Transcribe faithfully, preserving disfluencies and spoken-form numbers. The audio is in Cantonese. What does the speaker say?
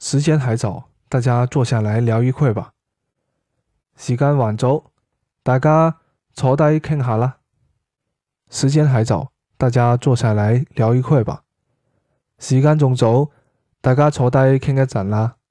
時間還早，大家坐下來聊一會吧。時間還早，大家坐低傾下啦。時間還早，大家坐下來聊一會吧。時間仲早，大家坐低傾一陣啦。